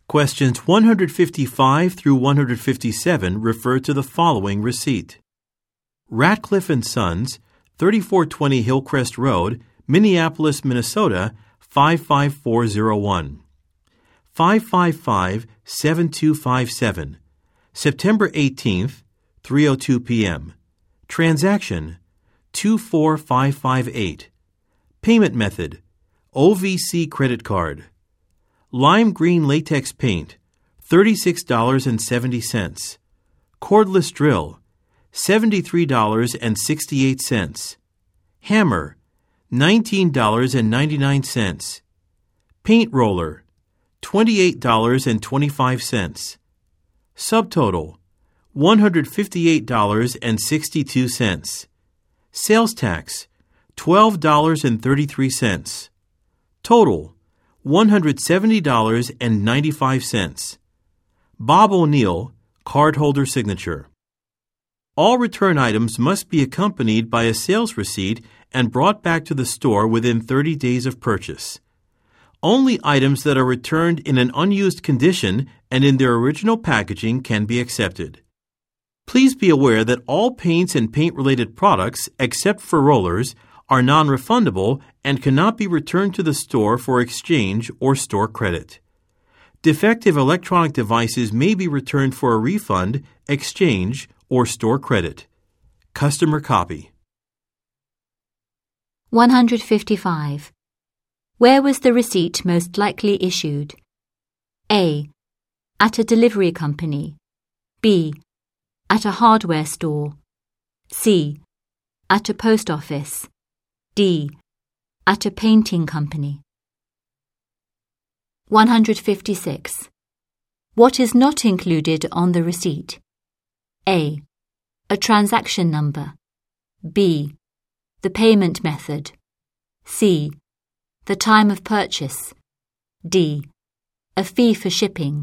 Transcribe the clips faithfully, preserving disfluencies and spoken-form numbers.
Questions one hundred fifty-five through one hundred fifty-seven refer to the following receipt. Ratcliffe and Sons, thirty-four twenty Hillcrest Road, Minneapolis, Minnesota, five five four zero one. five five five seven two five seven. September eighteenth, three oh two p.m. Transaction two four five five eight. Payment method O V C credit card. Lime green latex paint thirty-six dollars and seventy cents. Cordless drill seventy-three dollars and sixty-eight cents. Hammer nineteen dollars and ninety-nine cents. Paint roller twenty-eight dollars and twenty-five cents. Subtotal one hundred fifty-eight dollars and sixty-two cents. Sales tax twelve dollars and thirty-three cents. Total one hundred seventy dollars and ninety-five cents. Bob O'Neill, cardholder signature. All return items must be accompanied by a sales receipt and brought back to the store within thirty days of purchase. Only items that are returned in an unused condition and in their original packaging can be accepted. Please be aware that all paints and paint-related products, except for rollers, are non-refundable and cannot be returned to the store for exchange or store credit. Defective electronic devices may be returned for a refund, exchange, or store credit. Customer copy. one hundred fifty-five. Where was the receipt most likely issued? A. At a delivery company. B. At a hardware store. C. At a post office. D. At a painting company. one hundred fifty-six. What is not included on the receipt? A. A transaction number. B. The payment method. C. The time of purchase. D. A fee for shipping.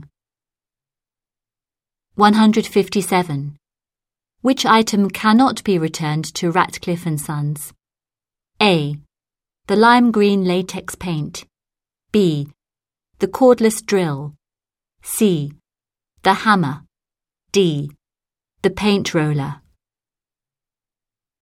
one hundred fifty-seven. Which item cannot be returned to Ratcliffe and Sons? A. The lime green latex paint. B. The cordless drill. C. The hammer. D. The paint roller.